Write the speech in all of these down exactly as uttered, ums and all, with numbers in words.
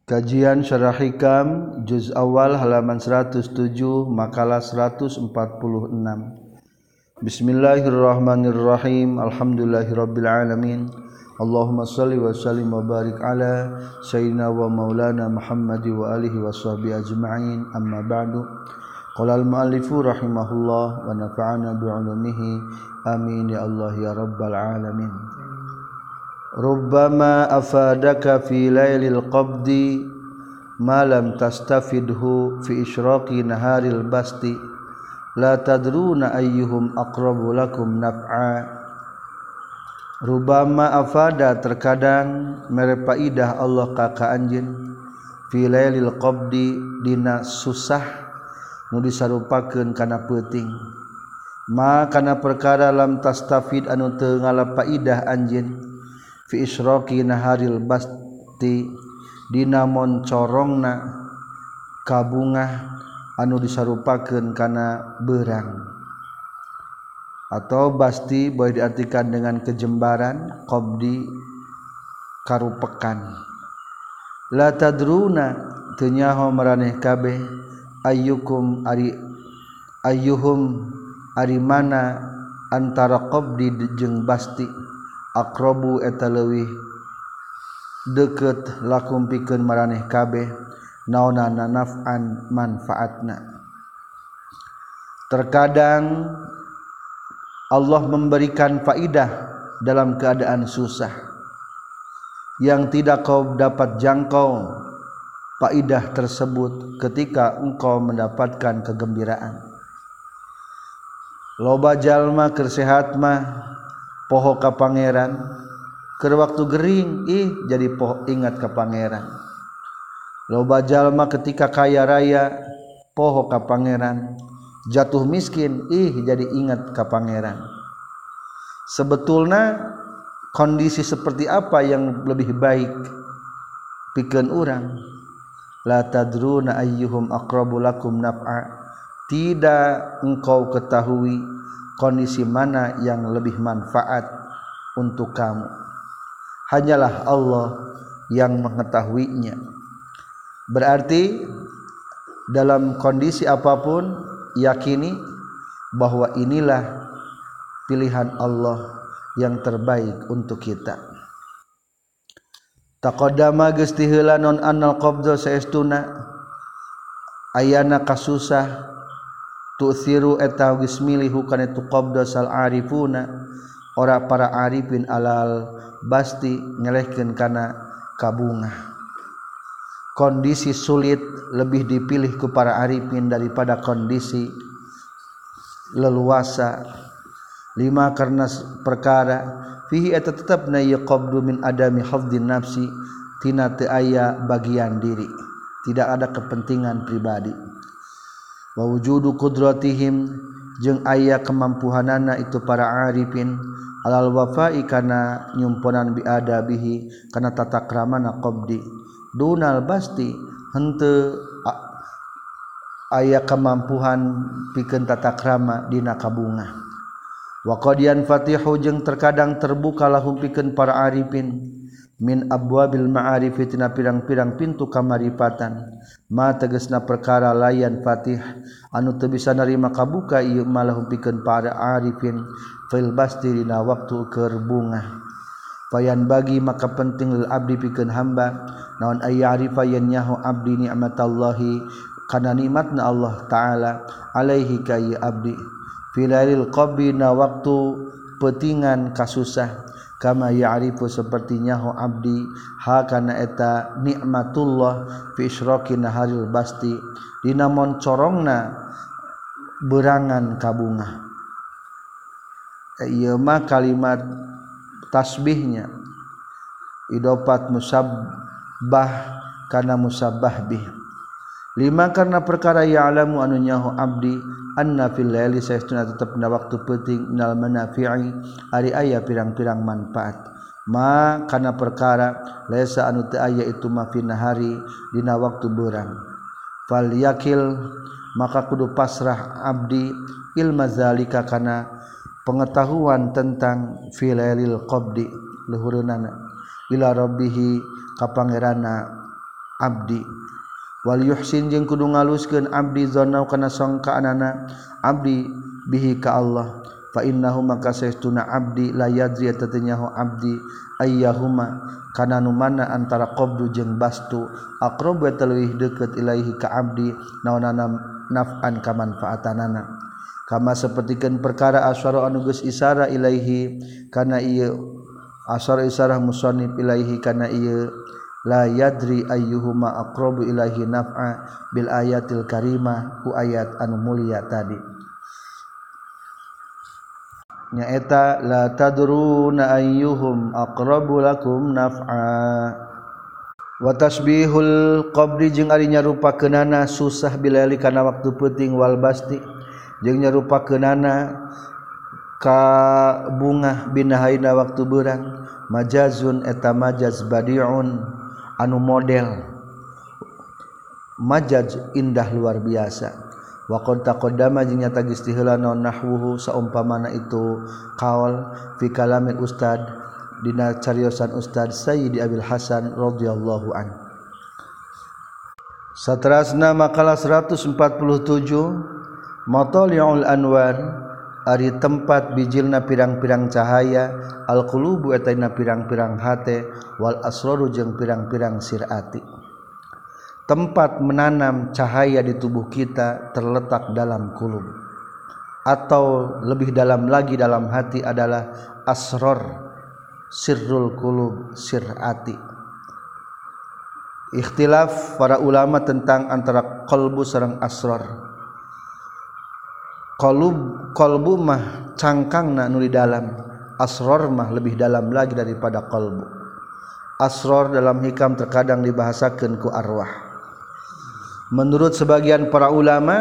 Kajian Syarah Hikam Juz Awal halaman seratus tujuh makalah seratus empat puluh enam. Bismillahirrahmanirrahim. Alhamdulillahirabbil alamin. Allahumma shalli wa sallim wa barik ala sayyidina wa maulana Muhammad wa alihi wa sahbihi ajma'in. Amma ba'du. Qala al-muallifu rahimahullah wa nafa'ana bi 'ulumihi. Amin ya Allah ya rabbal alamin. Rubbama afadaka fi lailil qabdi ma lam tastafidhu fi isyraqi naharil basti la tadruna ayyuhum aqrabu lakum naf'a. Rubbama afada terkadang mere faidah Allah ka ka anjeun fi lailil qabdi dina susah nu disarupakeun kana peuting ma kana perkara lam tastafid anu teu ngalapaida anjeun fi isyraqi naharil basti dina moncorongna kabungah anu disarupakeun kana beurang atau basti boleh diartikan dengan kejembaran qabdi karupekan. La tadruna teu nyaho maraneh kabeh ayyukum ari ayyuhum ari mana antara qabdi jeung basti aqrabu eta leuwih deukeut lakum pikeun maraneh kabeh naonana naf'an manfaatna. Terkadang Allah memberikan faidah dalam keadaan susah yang tidak kau dapat jangkau faidah tersebut ketika engkau mendapatkan kegembiraan. Loba jalma keur sehat mah poho ka pangeran, keur waktu gering ih jadi poho ingat ka pangeran. Loba jalma ketika kaya raya poho ka pangeran, jatuh miskin ih jadi ingat ka pangeran. Sebetulna kondisi seperti apa yang lebih baik pikeun urang? La tadruna ayyuhum aqrabu lakum naf'a. Tidak engkau ketahui kondisi mana yang lebih manfaat untuk kamu. Hanyalah Allah yang mengetahuinya. Berarti dalam kondisi apapun yakini bahwa inilah pilihan Allah yang terbaik untuk kita. Taqaddama geus ti heula non annal qabdha saestuna ayana kasusah tu'thiru eta geus milihu kana tu qabda sal arifuna ora para arifin alal basti ngelehkeun kana kabungah. Kondisi sulit lebih dipilih ku para arifin daripada kondisi leluasa. Lima karena perkara fihi eta tetepna ya qabdu min adami hafdhin nafsi tina teu aya bagian diri, tidak ada kepentingan pribadi. Wa wujudu qudratihim jeung aya kemampuhanana itu para arifin alal wafa'i kana nyumponan bi adabihi kana tata kramana qabdi dunal basti henteu aya kemampuhan pikeun tata krama dina kabungah. Wa qadiyan fatihu jeung terkadang terbuka lahum pikeun para arifin min abwabil ma'arif tina pirang-pirang pintu kamaripatan ma tegasna perkara layan fatih anu teu bisa narima kabuka ieu malahum pikeun para arifin fil basti dina waktu keur bungah. Payan bagi maka penting lil abdi pikeun hamba naon aya arifa yen nyaho abdi nikmatallahi kana nikmatna Allah taala alaihi ka ieu abdi filailil qabri na waktu peutingan kasusah kama ya'rifu seperti nyaho abdi ha kana eta nikmatullah fi isyraqi naharil basti dina moncorongna berangan kabungah. Ieu mah kalimat tasbihnya idofat musabbah kana musabbah bih. Lima karena perkara ya'lamu anu nyaho abdi anna fil laili saestuna tetepna waktu peuting minal manafi'i ari aya pirang-pirang manfaat ma kana perkara laisa anu teu aya itu ma fi nahari dina waktu beurang. Fal yakil maka kudu pasrah abdi ilma zalika kana pengetahuan tentang fil lailil qabdi luhureunana ila rabbih ka pangeranna abdi wal yuhsin jeung kudu ngaluskeun abdi zonna kana sangkaanana abdi bihi ka Allah fa innahu maka saestuna abdi la yadri tatanyahu abdi ayyahuma kana nu mana antara qabdu jeung bastu aqrabu talwih deukeut ilaihi ka abdi naonana naf'an ka manfaatanana kama sapertikeun perkara asyara anu geus isara ilaihi kana ieu asyara isarah musannif ilaihi kana ieu la yadri ayyuhuma aqrabu ilaihi naf'a bil ayatil karimah ku ayat anu mulia tadi nyaeta la tadruna ayyuhum aqrabu lakum naf'a wa tasbihul qabri jeung ari nyarupakeunana susah bilali kana waktu peuting wal basti jeung nyarupakeunana ka bunga binahaina waktu beurang majazun eta majaz badiun anu model majaz indah luar biasa wa qad taqaddama jeung nyata geus tiheula naon nahwuhu saumpamana itu qaul fi kalamil ustad dina cariosan ustad Sayyidi Abil Hasan radhiyallahu an. Saterasna makalah seratus empat puluh tujuh Matali'ul Anwar ari tempat bijilna pirang-pirang cahaya al-qulubu eta pirang-pirang hate wal asraru jeung pirang-pirang sirati. Tempat menanam cahaya di tubuh kita terletak dalam kulub atau lebih dalam lagi dalam hati adalah asror sirrul kulub sirati. Ikhtilaf para ulama tentang antara qalbu sareng asror. Qalub qalbu mah cangkangna nu di dalam, asror mah lebih dalam lagi daripada qalbu. Asror dalam hikam terkadang dibahasakeun ku arwah. Menurut sebagian para ulama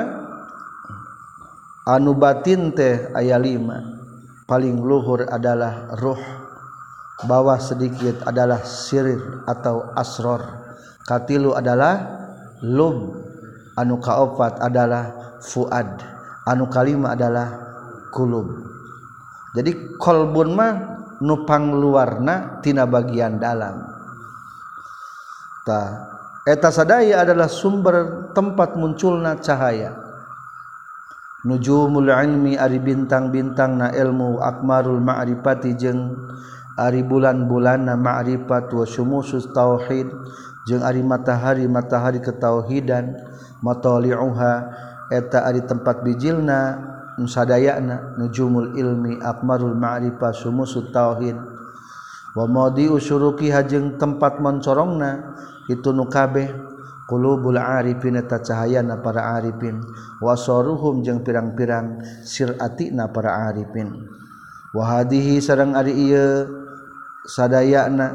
anu batin teh aya lima paling luhur adalah ruh bawah sedikit adalah sirir atau asror katilu adalah lub anu kaopat adalah fuad anu kalima adalah kulub jadi kolbun mah nupang luarna tina bagian dalam ta eta sadaya adalah sumber tempat munculna cahaya. Nujumul ilmi ari bintang-bintangna ilmu akmarul ma'rifati jeung ari bulan-bulanna ma'rifat wa syumusus tauhid jeung ari matahari-matahari ketauhidan matali'uha eta ari tempat bijilna nusadayana nujumul ilmi akmarul ma'rifat syumusut tauhid wa madi'u syuruqiha jeung tempat mencorongna itu nu kabeh qulubul arifin eta cahayana para arifin wasaruhum jeung pirang-pirang siratina para arifin wa hadhihi sareng ari ieu sadayana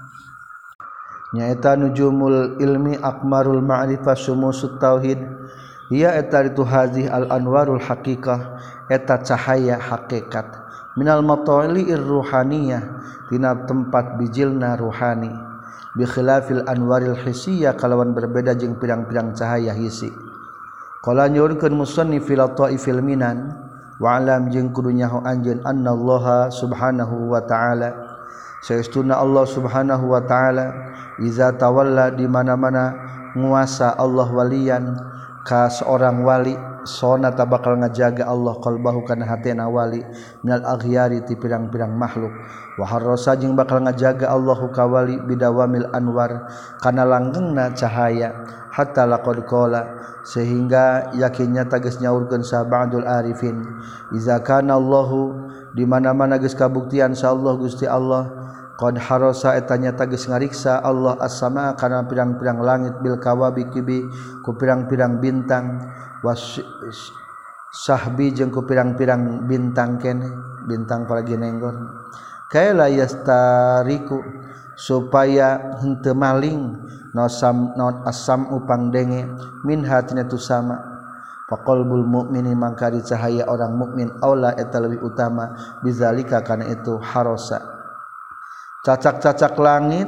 nyaeta nujumul ilmi akmarul ma'rifah syumusut tauhid ia eta itu hadhihi al anwarul haqiqah eta cahaya hakikat minal matali'ir ruhaniyah tina tempat bijilna ruhani bi khilafil anwaril hissiyah kalawan berbeda jeung pirang-pirang cahaya hisi qala nyurkeun musannif fil ta'ifil minan wa alam jeung kudu nyaho anjeun annallaha subhanahu wa ta'ala saestuna Allah subhanahu wa ta'ala iza tawalla di mana-mana nguasa Allah walian ka seorang wali sonata bakal ngajaga Allah qalbahu kana hatena wali minal aghyari ti pirang-pirang makhluk wa harrasa jeung bakal ngajaga Allahu ka wali bidawamil anwar kana langgengna cahaya hatta laqad qala sehingga yakinnya tegas nyaurkeun sa ba'dul arifin iza kana Allahu di mana-mana geus kabuktian sa Allah Gusti Allah qad harasa etanya tegas ngariksa Allah as-sama kana pirang-pirang langit bil kawabibi ku pirang-pirang bintang was sahbi jeung ku pirang-pirang bintang kene bintang para ginenggon kaila yastariku supaya henteu maling nosam non asam upang denge min hatina tu sama faqalbul mukmini mangka di cahaya orang mukmin aula eta leuwih utama bizalika kana itu harosa cacak-cacak langit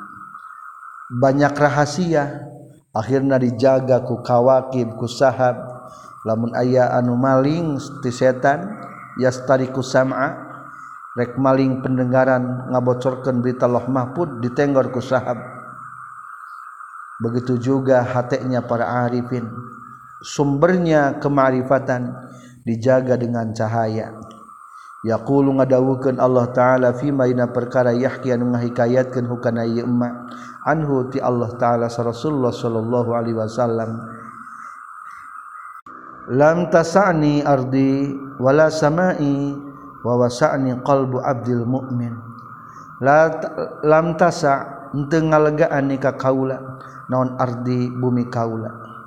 banyak rahasia akhirna dijaga ku kawakib ku sahab lamun aya anu maling ti setan yastariku sam'a rek maling pendengaran ngabocorkeun berita loh mahfud ditenggor ku sahab begitu juga hatinya para arifin, sumbernya kemarifatan dijaga dengan cahaya. Yaqulu ngadawukeun Allah taala fi maina perkara yahki anu ngahikayatkeun hukana ieu emma anhu ti Allah taala sa Rasulullah sallallahu alaihi wasallam, lam tasani ardi wala samai wa wasa'ni qalbu abdil mu'min. La lam tasa henteu ngalegaan ni ka kaula naon ardi bumi kaula,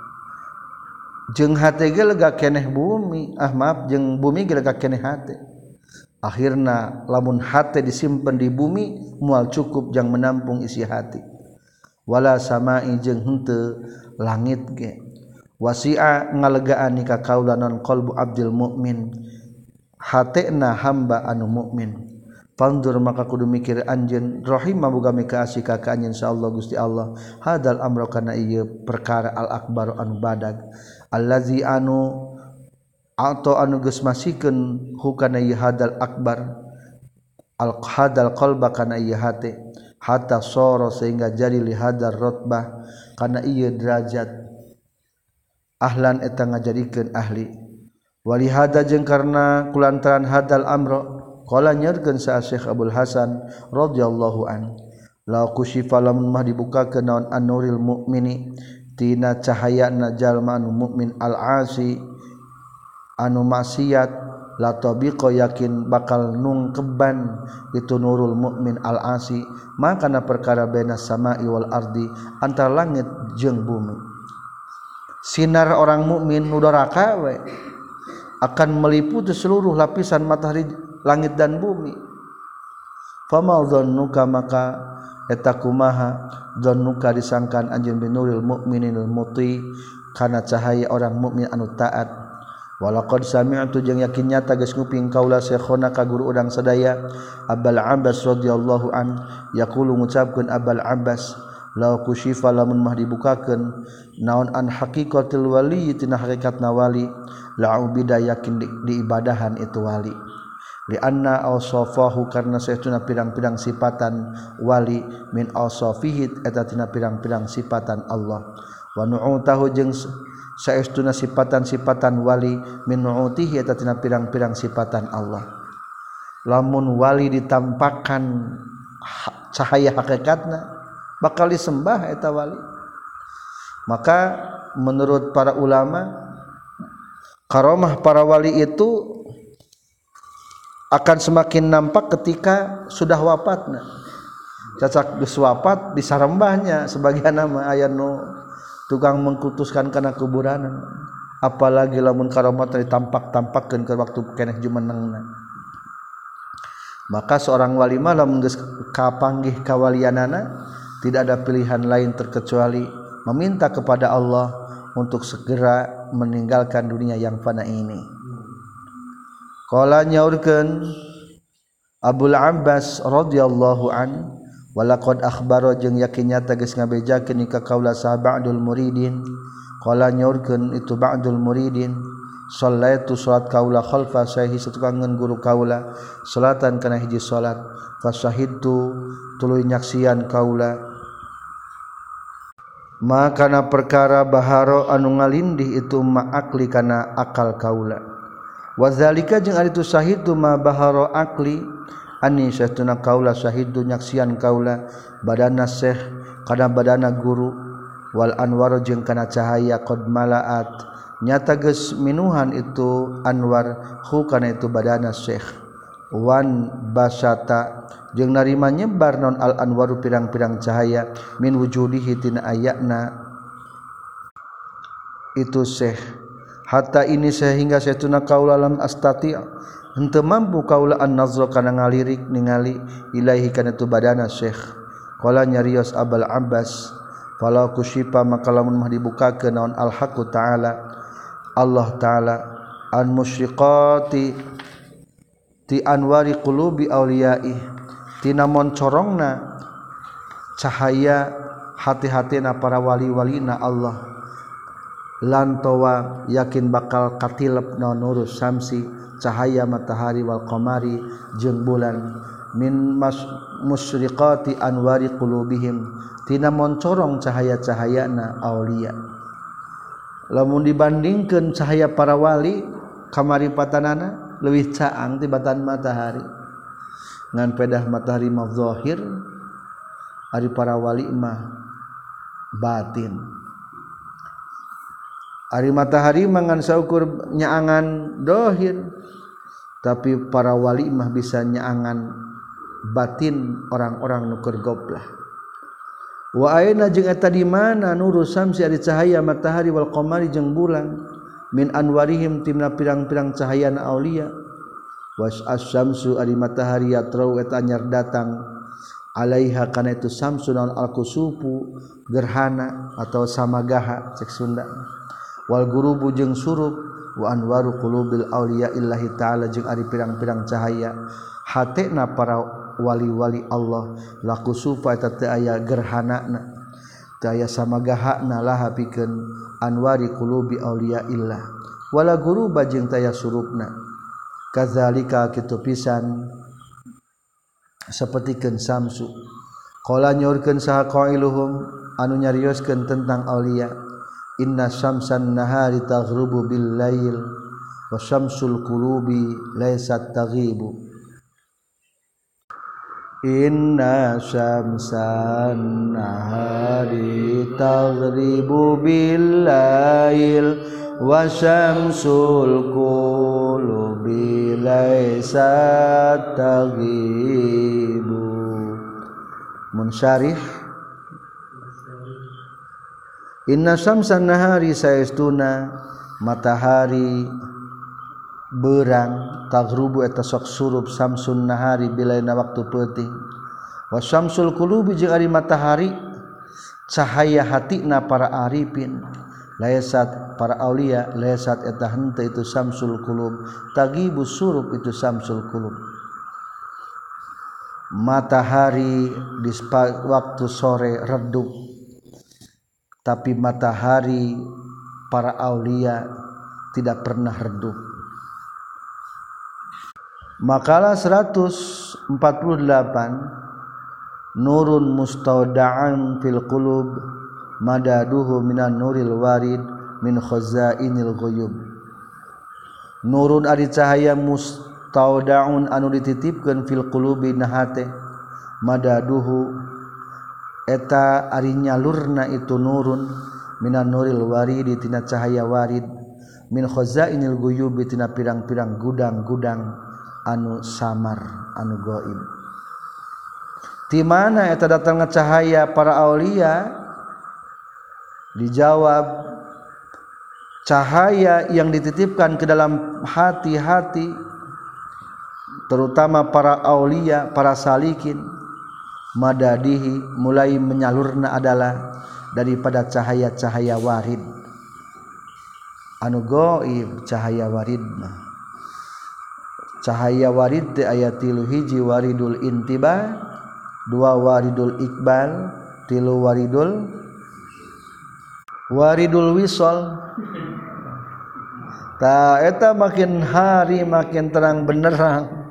jeung hate ge lega keneh bumi, ah maaf jeung bumi ge lega keneh hate. Akhirna lamun hate disimpen di bumi moal cukup jang menampung isi hati. Wala samai jeung henteu langit ge. Wasi'a ngalegaan ni ka kaula naon qalbu abdil mu'min, hatena hamba anu mukmin. Fandur maka kudu mikir anjeun rahimah boga mika asih ka anjeun insyaallah Gusti Allah hadal amra kana ieu perkara al akbar anu badag allazi anu atau anu geus masikeun hukana ieu hadal akbar al hadal qalba kana ieu hate hatta soro sehingga jadi li hadar rotbah kana ieu derajat ahlan eta ngajadikeun ahli wali hada jeung karna kulantaran hadal amra qala nyarkeun sa Syekh Abdul Hasan radhiyallahu an la kusyifa lamun mah dibukakeun naon an-nuril mukmini tina cahayana jalma anu mukmin al-asi anu maksiat la tabiqa yakin bakal nungkeban itu nurul mukmin al-asi makana perkara baina samai wal ardi antara langit jeung bumi. Sinar orang mukmin nu doraka we akan meliputi seluruh lapisan matahari langit dan bumi. Fama dzannuka maka eta kumaha dzannuka disangkan anjeun binuril mukminil muti kana cahaya orang mukmin anu taat. Walaqad sami'tu jeung yakin nyata geus nguping kaula syekhona ka guru urang sadaya Abul Abbas radhiyallahu an yaqulu ngucapkeun Abul Abbas la kusyifa lamun mah dibukakeun naon an haqiqatil wali tina hakikatna wali la ubida yakin di, diibadahan itu wali li anna awsafahu karna saestuna pirang-pirang sifatan wali min awsafihi eta tina pirang-pirang sifatan Allah wa nu'utahu jeung saestuna sifatan-sifatan wali min nu'utihi eta tina pirang-pirang sifatan Allah. Lamun wali ditampakkan cahaya hakikatna bakal disembah eta wali. Maka menurut para ulama karamah para wali itu akan semakin nampak ketika sudah wafatna. Cacak geus wafat disarembahnya sebagian nama aya nu tukang mengkutuskan kana kuburan, apalagi lamun karamah ditampak-tampakkeun ke waktu keneh jumenengna. Maka seorang wali mah lamun geus kapanggih kawalianana tidak ada pilihan lain terkecuali meminta kepada Allah untuk segera meninggalkan dunia yang fana ini. Qala nyaurkeun Abul Abbas radhiyallahu an walaqad akhbaro jeung yakin nyata geus ngabejakeun ka kaula sa ba'dul muridin. Qala nyaurkeun itu ba'dul muridin sallaitu salat kaula khalfa sahihi satukangeun guru kaula salatan kana hiji salat fasahidtu tuluy nyaksian kaula makana perkara baharo anu ngalindih itu ma'akli kana akal kaula wazalika jeung ari tu sahidu ma baharo akli ani satuna kaula sahidu nyaksian kaula badana syekh kana badana guru wal anwar jeung kana cahaya qad malaat nyata geus minuhan itu anwar hu kana itu badana syekh wan basata jeung narima nyebar non al anwaru pirang-pirang cahaya min wujudihi tina ayatna itu syekh hatta ini sehingga satuna kaula lam astati' henteu mampu kaula an nazra kana ngalirik ningali ilaahi kana tu badana syekh. Qala nyarios Abul Abbas fala kusyifa maka lamun mah dibukakeun naon al haqqu ta'ala Allah ta'ala an musyriqati ti anwari qulubi auliyai tina moncorongna cahaya hati-hatina para wali-walina Allah lantawa yakin bakal katilep naon nurus samsi cahaya matahari wal qamari jeung bulan min mas musyriqati anwari qulubihim tina moncorong cahaya-cahayana aulia. Lamun dibandingkeun cahaya para wali kamaripatanana leuwih caang tibatan matahari ngan pedah matahari mah zahir ari para wali mah batin. Ari matahari mangan saukur nyaangan dohir tapi para wali mah bisa nyaangan batin orang-orang nu keur goblah. Wa aina jeung eta di mana nuru samsi ari cahaya matahari wal qamari jeung bulan min anwarihim timna pirang-pirang cahayana aulia. Was asy-syamsu ari matahari yatrau eta anyar datang alaiha kana itu samsu naon al-kusufu gerhana atau samagaha cek Sunda. Wal gurubu jeung surub wa anwaru qulubil auliya illahi ta'ala jeung ari pirang-pirang cahaya hatena para wali-wali Allah la kusufa eta teu aya gerhanana teu aya samagahana laha pikeun anwari qulubi auliya illah wala guruba jeung teu aya surupna kadzalika kitu pisan sapertikeun samsu qala nyorkeun saha qailuhum anu nyarioskeun tentang auliya inna syamsan nahari taghrubu bil lail wa syamsul qulubi laysat taghibu. Inna syamsan nahari taghribu bil lail wa syamsul qulubi laysat taghibu. Munsyarih inna syamsan nahari saestuna matahari berang taghrubu eta sok surup samsun nahari bilaina waktu peuting wa syamsul qulubi jeung ari matahari cahaya hatina para arifin laysat para aulia laysat eta henteu itu samsul qulub tagibu surup itu samsul qulub. Matahari di waktu sore redup tapi matahari para aulia tidak pernah redup. Makalah seratus empat puluh delapan nurun mustauda'an fil qulub madaduhu minan nuril warid min khazainil ghuyub. Nurun ari cahaya mustauda'un anu dititipkeun fil qulubi nahate madaduhu eta ari nyalurna itu nurun minan nuril warid tina cahaya warid min khazainil ghuyub tina pirang-pirang gudang-gudang anu samar anu gaib. Di mana eta datangna cahaya para aulia? Dijawab cahaya yang dititipkan ke dalam hati-hati terutama para aulia, para salikin madadihi mulai menyalurna adalah daripada cahaya-cahaya warid anu gaib. Cahaya warid mah cahaya warid teh aya tilu hiji waridul intiba, dua waridul iqbal, tilu waridul waridul wisol. Ta eta makin hari makin terang benderang.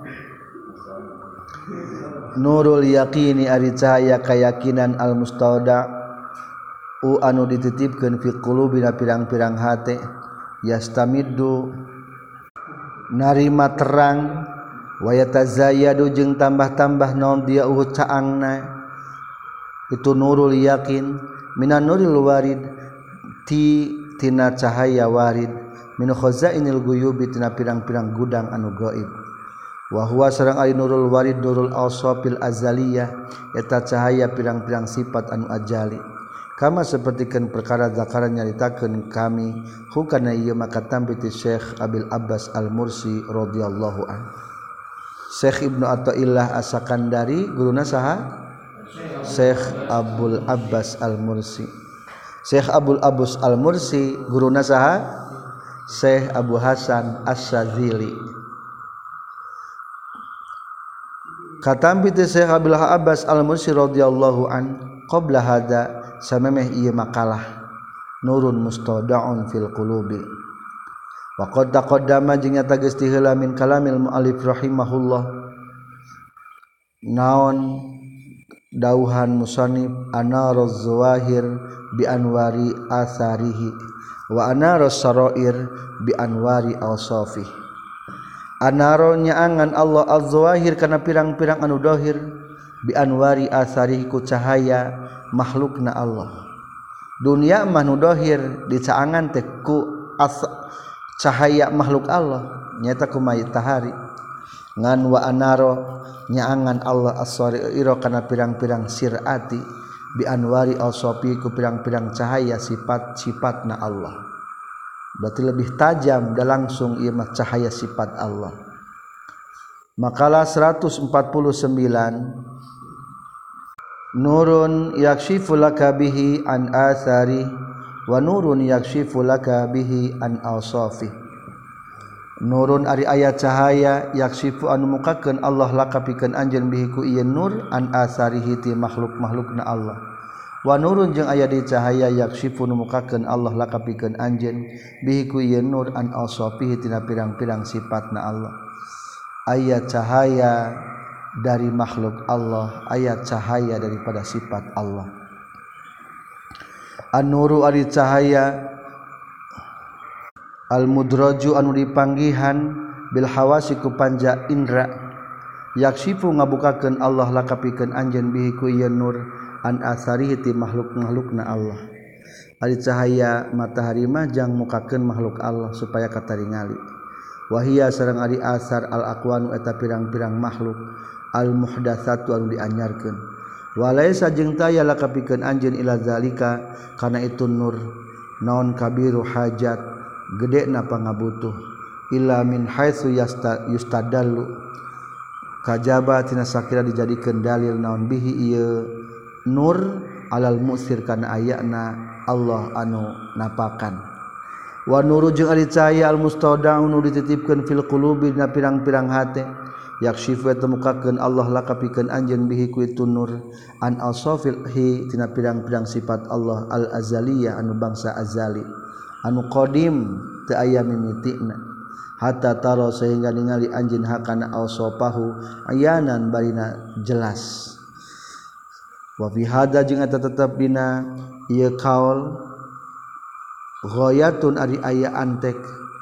Nurul yaqini ari cahaya keyakinan al mustauda u anu dititipkeun fi qulubina pirang-pirang hate yastamiddu narima terang wa yatazayyadu jeung tambah-tambah naon dia uh caangna itu nurul yakin minan nuril warid ti tina cahaya warid min khazainil ghuyub tina pirang-pirang gudang anu gaib. Wa huwa sareng ari nurul warid nurul awsafil azaliyah eta cahaya pirang-pirang sifat anu ajali. Kama sapertikeun perkara zakara nyaritakeun kami hukana ieu maka tambiti Syekh Abil Abbas Al-Mursi radhiyallahu an. Syekh Ibnu Athaillah As-Sakandari guruna saha? Syekh Abul Abbas Al-Mursi. Syekh Abul Abbas Al-Mursi guruna saha? Syekh Abu Hasan As-Sadzili. Katampi Syekh Abul Abbas Al-Mursi radhiyallahu an qabla hada samemeh ieu makalah nurun mustada'un fil qulubi. Wa qad taqaddama jeung nyata geus ti heula min kalamil muallif rahimahullah naon dauhan musannif anaruz zawahir bi anwari asarihi wa anarus sarair bi anwari awsafih. Anaro nyaangan Allah az-zawahir kana pirang-pirang anu dohir bi anwari asarihi ku cahaya makhlukna Allah. Dunia mah nu dohir dicaangan teh ku cahaya makhluk Allah nyata ku matahari. Ngan wa anaro nyaangan Allah as-saraira kana pirang-pirang sirati bi anwari awsafi ku pirang-pirang cahaya sifat-sifatna Allah. Berarti lebih tajam dan langsung ieu mah cahaya sifat Allah. Makalah seratus empat puluh sembilan nurun yakshifu laka bihi an athari wa nurun yakshifu laka bihi an awsafi. Nurun ari aya cahaya yakshifu anu mukakeun Allah laka pikeun anjeun bihi ku ieu nur an atharihi ti makhluk-makhlukna Allah. Wa nurun jeung aya di cahaya yakshifu nu mukakeun Allah laka pikeun anjeun bihi ku ieu nur an awsafihi tina pirang-pirang sifatna Allah. Aya cahaya dari makhluk Allah, aya cahaya daripada sifat Allah. An-nuru ari cahaya al-mudraju anu dipanggihan bil hawasi ku panja indra yakshifu ngabukakeun Allah laka pikeun anjeun bihi ku ieu nur an asarihi ti makhluk-makhlukna Allah. Ari cahaya matahari mah jang mukakeun makhluk Allah supaya kataringali. Wahia sareng ari asar al-aqwanu eta pirang-pirang makhluk al-muhdatsatu anu dianyarkeun. Walaisa jeung taya laka pikeun anjeun ila zalika kana itu nur naon kabiru hajat gedena pangabutuh illa min haitsu yustadallu kajaba tina sakira dijadikeun dalil naon bihi ieu nur alal musir kana ayana Allah anu napakan. Wa nuru jeung ari cahaya al mustaudaun nu dititipkeun fil qulubi dina pirang-pirang hate yakshifu eta mukakeun Allah laka pikeun anjeun bihi ku itu nur an awsafilhi tina pirang-pirang sifat Allah al azaliyah anu bangsa azali anu qadim teu aya mimitina hatta taro sehingga ningali anjeun hakana awsafahu ayanan barina jelas. Wa fi hada jeung eta tetep dina ieu kaul ghayatun ari aya antek.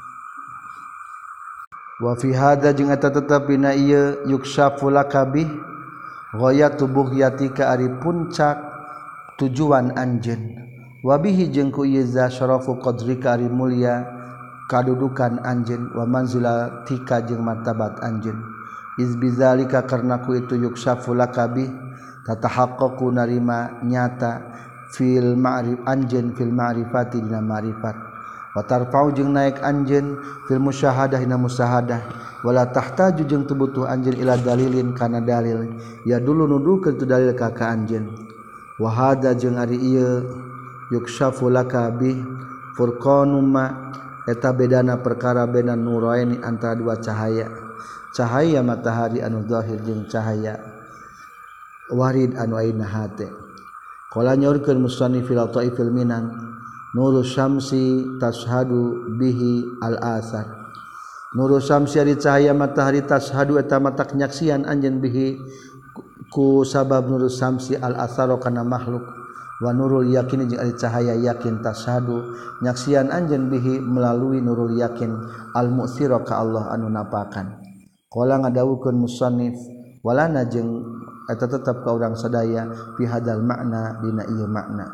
Wa fi hada jeung eta tetep dina ieu yukshafu lakabih ghayatu bughyatika ari puncak tujuan anjeun. Wa bihi jeung ku ieu za syarafu qadrika ari mulia kadudukan anjeun wa manzilatika jeung martabat anjeun. Iz bizalika karna ku itu yukshafu lakabih tatahaqqaqu narima nyata fil ma'rif anjeun fil ma'rifati dina ma'rifat wa tarfa'u jeung naik anjeun fil musyahadah dina musyahadah wala tahtaju jeung teu butuh anjeun ila dalilin kana dalil ya dulu nudukeun tu dalil ka ka anjeun. Wa hada jeung ari ieu yukshafu laka bi furqanum ma eta bedana perkara bena nuraini antara dua cahaya cahaya matahari anu zahir jeung cahaya warid anu aina hate. Qala nyorkeun musannif fil taifil minan nuru syamsi tashhadu bihi al asar. Nuru syamsi ari cahaya matahari tashhadu eta matak nyaksian anjeun bihi ku sabab nuru syamsi al asar kana makhluk wa nurul yakin jeung ari cahaya yakin tashhadu nyaksian anjeun bihi melalui nurul yakin al mu'sira ka Allah anu napakan. Qala ngadawukeun musannif walana jeung eta tetep ka urang sadaya fi hadal makna dina ieu makna.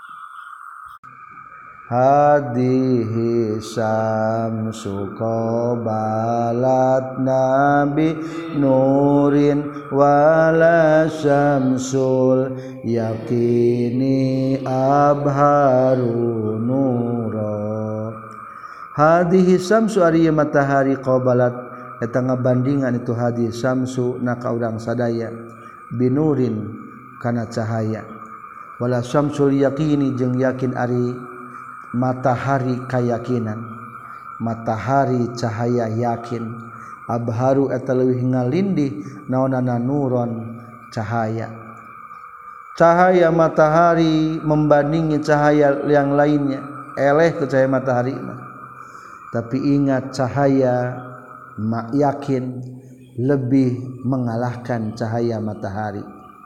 Hadihi syamsu qabalat nabi nurin wala syamsul yakini abharu nura. Hadihi syamsu ari matahari qabalat eta ngabandingan itu hadis syamsu na ka urang sadaya binurin kana cahaya wala syamsul yaqini jeung yakin ari matahari kayakinan matahari cahaya yakin abharu eta leuwih ngalindih naonana nuron cahaya cahaya matahari membandingi cahaya yang lainnya eleh ku cahaya matahari mah. Tapi ingat cahaya mak yakin lebih mengalahkan cahaya matahari.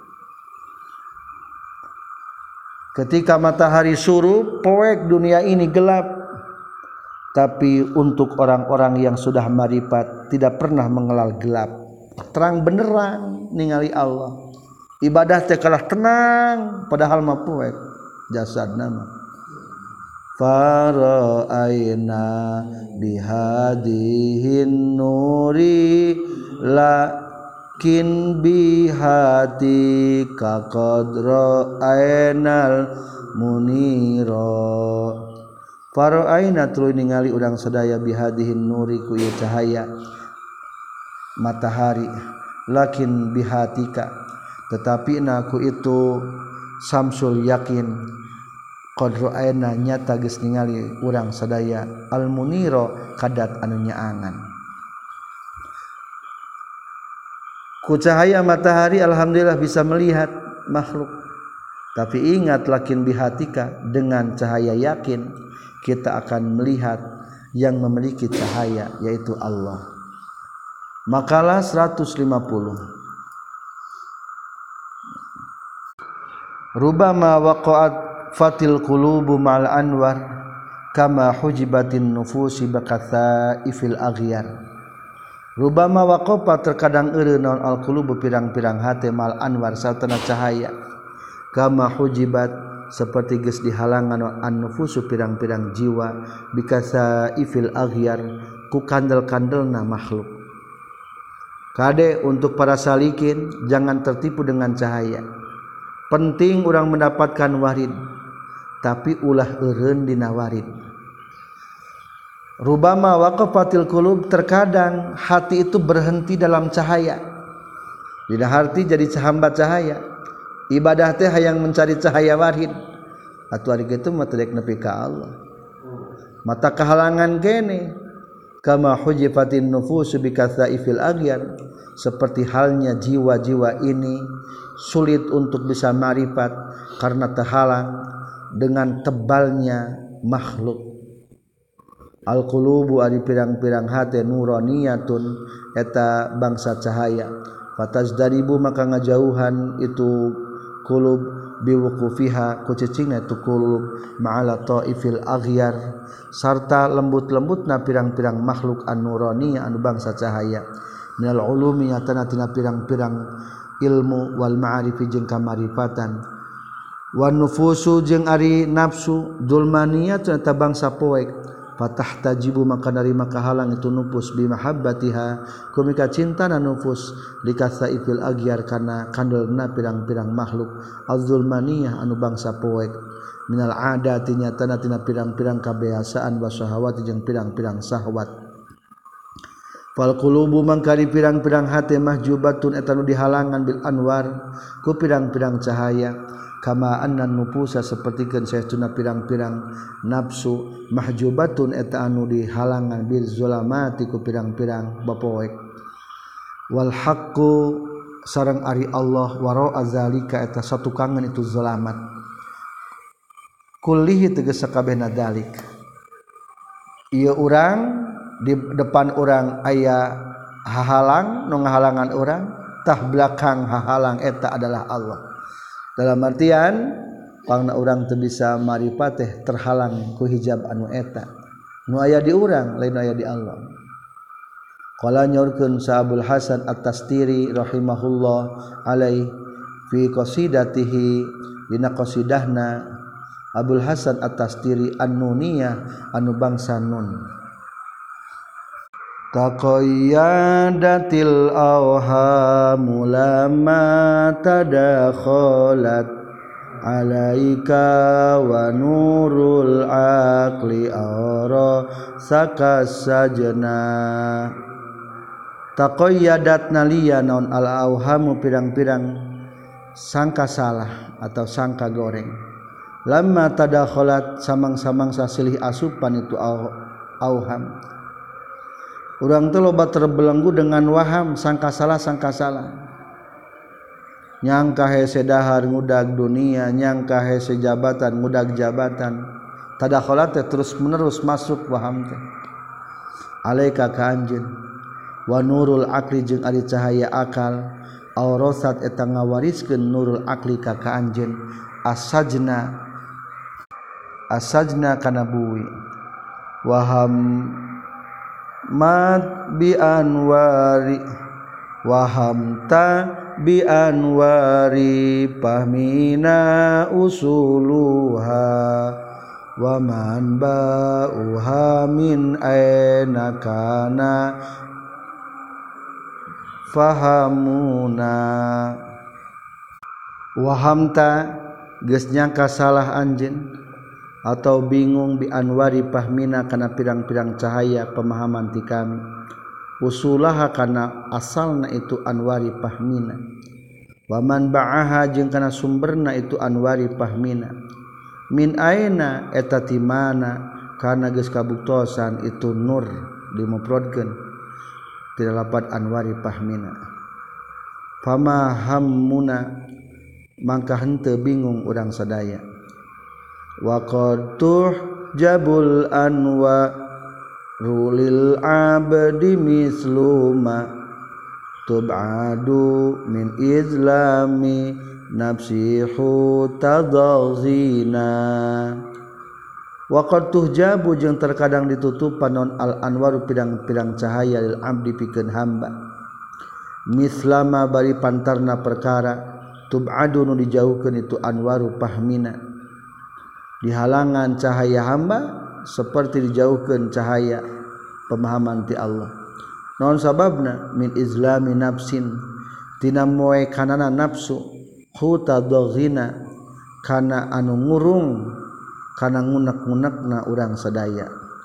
Ketika matahari surup, poek dunia ini gelap. Tapi untuk orang-orang yang sudah marifat tidak pernah mengelal gelap. Terang beneran ningali Allah. Ibadah teh kalah tenang padahal mah poek jasadna mah. Fara'aina bihadihin nuri lakin bihati kaqadra ainal munira. Fara'aina tuluy ningali urang sadaya bihadihin nuri ku ieu cahaya matahari lakin bihatika tetapi naku itu samsul yakin qadra aina nyata geus ningali urang sadaya al munira kadat anu nyaangan. Ku cahaya matahari alhamdulillah bisa melihat makhluk. Tapi ingat lakin bihatika dengan cahaya yakin kita akan melihat yang memiliki cahaya yaitu Allah. Makalah seratus lima puluh. Rubama waqa'at fatil qulubu ma'al anwar kama hujibatin nufusi baqathaifil aghyar. Rubama waqafa terkadang eureun naon al qulubu pirang-pirang hate mal anwar sartana cahaya kama hujibat seperti geus dihalangan an nufusu pirang-pirang jiwa bikathaifil aghyar ku kandel-kandelna makhluk. Kade untuk para salikin jangan tertipu dengan cahaya. Penting orang mendapatkan warid, tapi ulah eureun dina warid. Rubama waqafatil qulub terkadang hati itu berhenti dalam cahaya. Dina hati jadi hamba cahaya. Ibadah teh hayang mencari cahaya warid. Atuh ari kitu mah teu nepi ka Allah. Mata kehalangan kene kama hujifatin nufusu bikatsaifil aghyar seperti halnya jiwa-jiwa ini sulit untuk bisa marifat karena terhalang dengan tebalnya makhluk. Al-qulubu ari pirang-pirang hate nuraniyatun eta bangsa cahaya. Fatazdaribu maka ngajauhan itu qulub biwuqufiha ku cicingna itu qulub ma'ala taifil aghyar sarta lembut-lembutna pirang-pirang makhluk an-nuraniyah anu bangsa cahaya. Minal ulumi atana tina pirang-pirang ilmu wal ma'arifi jeung kamarifatan wan nufusu jeung ari nafsu dulmaniyah eta bangsa poek fatahtajibu maka dari maka halang itu nufus bi mahabbatiha kumika cintana nufus likatsaifil aghyar kana kandelna pirang-pirang makhluk az-zulmaniyah anu bangsa poek minal adati nyatana tina pirang-pirang kabiasaan wa syahawat jeung pirang-pirang syahwat. Fal qulubu mangkari pirang-pirang hate mahjubatun eta nu dihalangan bil anwar ku pirang-pirang cahaya kama annan nufusa sapertikeun saestuna pirang-pirang nafsu mahjubatun eta anu dihalangan bil zulamati ku pirang-pirang bapoek. Wal haqqu sareng ari Allah wara azalika eta satukangan itu zulamat kullihi tegas sakabehna dalik. Ieu urang di depan orang aya hahalang nu ngahalangan orang tah belakang hahalang eta adalah Allah. Dalam artian pangna urang teu bisa marifat teh terhalang ku hijab anu eta nu aya di urang lain aya di Allah. Qala nyorkeun sa Abul Hasan At-Tastiri rahimahullah alaihi fi qasidatihi dina qasidahna Abul Hasan At-Tastiri an-Nuniyah anu bangsa Nun. Taqayyadatil awhamu lamma tadakhalat alaika wa nurul aqli ara sakas sajna. Taqayyadat naliya naon al awhamu pirang-pirang sangka salah atau sangka goreng. Lamma tadakhalat samang-samang sasilih asupan itu awham. Urang teh loba terbelenggu dengan waham sangka salah sangka salah. Nyangka hese dahar ngudag dunia, nyangka hese jabatan ngudag jabatan. tadakhalat terus menerus masuk waham teh alaika ka anjeun wa nurul aqli jeung ari cahaya akal aurasat eta ngawariskeun nurul aqli ka ka anjeun asajna asajna kana buwi waham mat bi anwari wahamta bi anwari pahmina usuluha wa man ba'uha min aina kana fahamuna wahamta geus nyangka salah anjeun atau bingung bi anwari pahmina kana pirang-pirang cahaya pemahaman ti kami usulaha kana asalna itu anwari pahmina wa man ba'aha jeung kana sumberna itu anwari pahmina min aina eta ti mana kana geus kabuktosan itu nur dimufradkeun ti lapat anwari pahmina fama hammuna mangka henteu bingung urang sadaya wa qad tuhjabul anwa rulil abdi misluma tub'adu min izlami nafsihu tadazina wa qad tuhjabu jeung terkadang ditutupan non al anwaru pirang-pirang cahaya lil abdi pikeun hamba mislama bari pantarna perkara tub'adu nu dijauhkeun itu anwaru pahmina dihalangan cahaya hamba seperti dijauhkeun cahaya pemahaman ti Allah naon sababna min izlami nafsin tina moe kanana nafsu hutadghina kana anu ngurung kana ngunek-ngunekna urang sadaya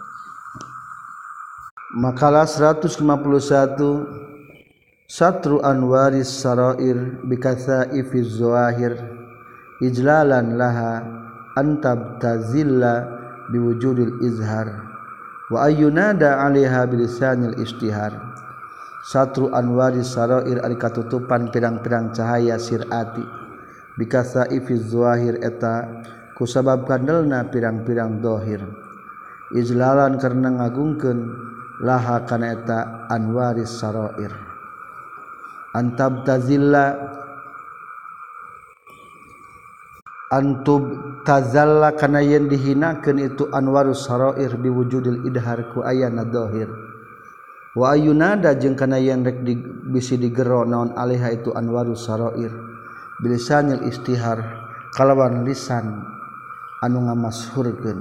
makalah seratus lima puluh satu satru anwaris sarair bikasaifiz zawahir ijlalan laha antab tazilla biwujudil izhar wa ayyunada 'alaiha bilisanil istihar satru anwari sarair ari katutupan pirang-pirang cahaya sirati bikasaifiz zawahir eta kusabab kandelna pirang-pirang zahir izlalan karena ngagungkeun laha kana eta anwaris sarair antab tazilla antub tazalla kana yen dihinakeun itu anwarus sarair biwujudil idhar ku ayana dhahir wa ayunada jeung kana yen rek di, bisi digero naon alaiha itu anwarus sarair bilisanil istihar kalawan lisan anu ngamasyhurkeun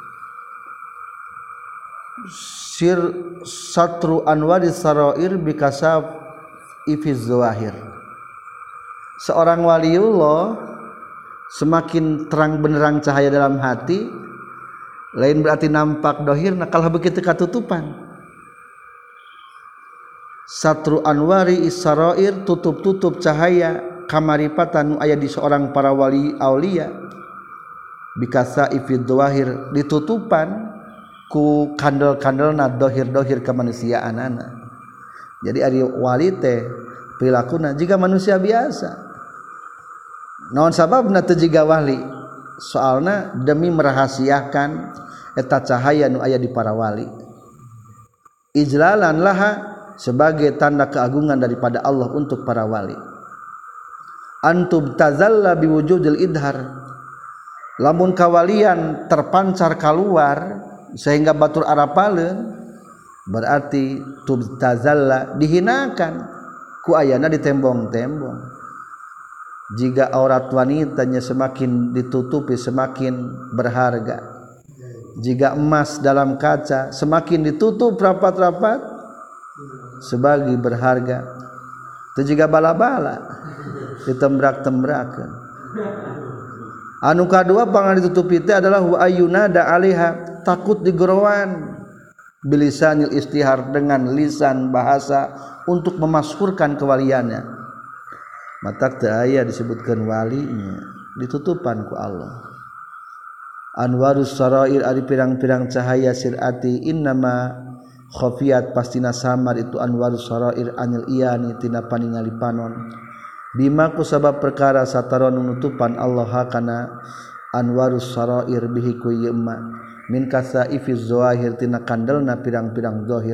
sir satru anwaris sarair bikasab ifiz zawahir seorang waliullah semakin terang benderang cahaya dalam hati lain berarti nampak dohirna kalau begitu katutupan satru anwari isarair tutup-tutup cahaya kamaripatan nu aya di seorang para wali aulia bikasa ifid dhahir ditutupan ku kandel-kandelna dohir-dohir kemanusiaanana jadi ari wali teh pilakuna jika manusia biasa naon sababna teu jiga wali soalna demi merahasiakan eta cahaya nu aya di para wali ijlalan laha sebagai tanda keagungan daripada Allah untuk para wali antub tazalla biwujudil idhar lamun kawalian terpancar keluar sehingga batur arapaleun berarti tub tazalla dihinakan ku ayana di tembong-tembong jika aurat wanitanya semakin ditutupi semakin berharga jika emas dalam kaca semakin ditutup rapat-rapat sebagai berharga itu jika bala-bala ditembrak-tembrakan anu kadua pangan ditutupi itu adalah wa ayyunada 'alaiha takut digerowan bilisanil istihar dengan lisan bahasa untuk memaskurkan kewaliannya matak teu aya disebutkeun walinya ditutupan ku Allah anwarus sarair ari pirang-pirang cahaya sirati innama khafiyat pastina samar itu anwarus sarair anil iyani tina paningali panon bima ku sabab perkara sataron nutupan Allah kana anwarus sarair bihi ku yema min kasaifiz zawahir tina kandelna pirang-pirang zahir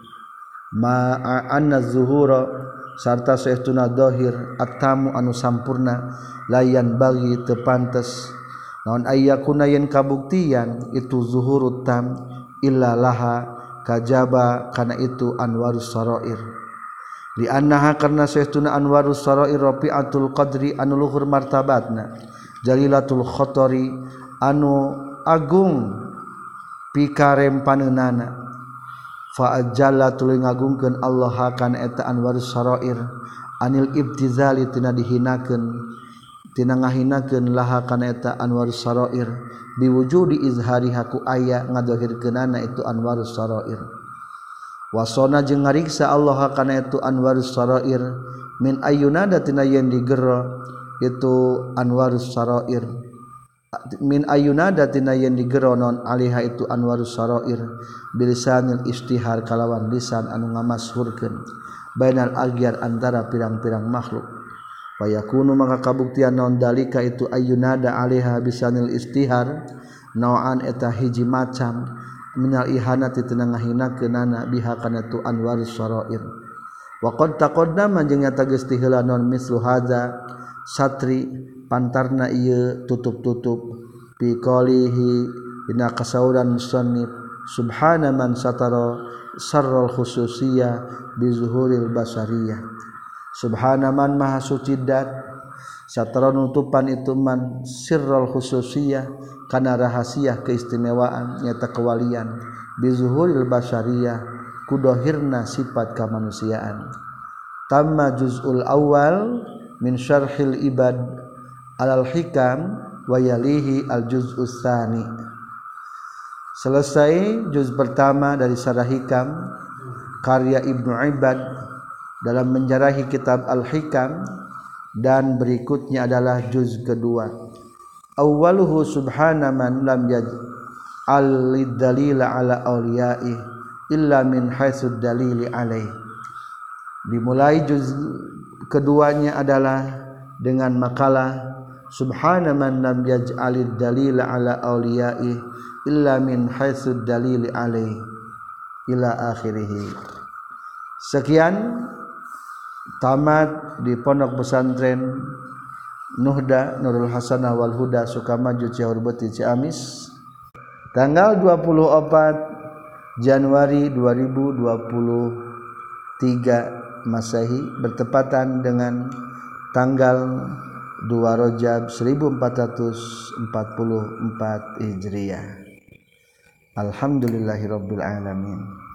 ma anna zuhura sarta saestuna zahir attamu anu sampurna layan bagi teu pantes naon ayyakuna yen kabuktian itu zuhurut tam illa laha kajaba kana itu anwarus sarair li annaha karna saestuna anwarus sarair rafi'atul qadri anu luhur martabatna jalilatul khatari anu agung pikarempaneunana fa ajalla tuluy ngagungkeun Allah kana eta anwarus sarair anil ibtizali tina dihinakeun tina ngahinakeun laha kana eta anwarus sarair biwujudi izhariha ku aya ngadahirkeunana itu anwarus sarair wasona jeung ngariksa Allah kana itu anwarus sarair min ayyunada tina yen digero itu anwarus sarair min ayyunada tina yen digero non alaiha itu anwarus sarair bilisanil istihar kalawan lisan anu ngamasyhurkeun bainal agyar antara pirang-pirang makhluk wa yakunu maka kabuktian naon dalika itu ayyunada alaiha bisanil istihar naon eta hiji macam minal ihanati tina ngahinakeunana biha kana tu anwarus sarair wa qad taqaddama jeung nyata geus ti heula naon mislu hadza satri pantarna ieu tutup-tutup fi qalihi dina kasauran musannif subhana man satara sarral khususiyah bi zuhuril basariyah subhana man maha suci dat satara nutupan itu man sirral khususiyah kana rahasia keistimewaan nyata kewalian bi zuhuril basariyah kudohirna sifat kamanusiaan tamma juz'ul awal min syarhil ibad alal hikam wa yalihi al juz'us tsani. Selesai juz pertama dari Syarah Hikam karya Ibnu Ibad dalam menjarahi kitab Al-Hikam dan berikutnya adalah juz kedua. Awwaluhu subhana man lam yaj'al lid-dalila ala awliya'i illa min haitsu dalili alaih. Dimulai juz keduanya adalah dengan makalah subhana man lam yaj'alid dalila ala awliya'i illa min haitsu dalili alaih ila akhirih. Sekian tamat di Pondok Pesantren Nuhda Nurul Hasanah wal Huda Sukamaju Ciahurbeuti Ciamis tanggal dua puluh empat Januari dua ribu dua puluh tiga Masehi bertepatan dengan tanggal dua Rajab seribu empat ratus empat puluh empat Hijriah. Alhamdulillahirabbil alamin.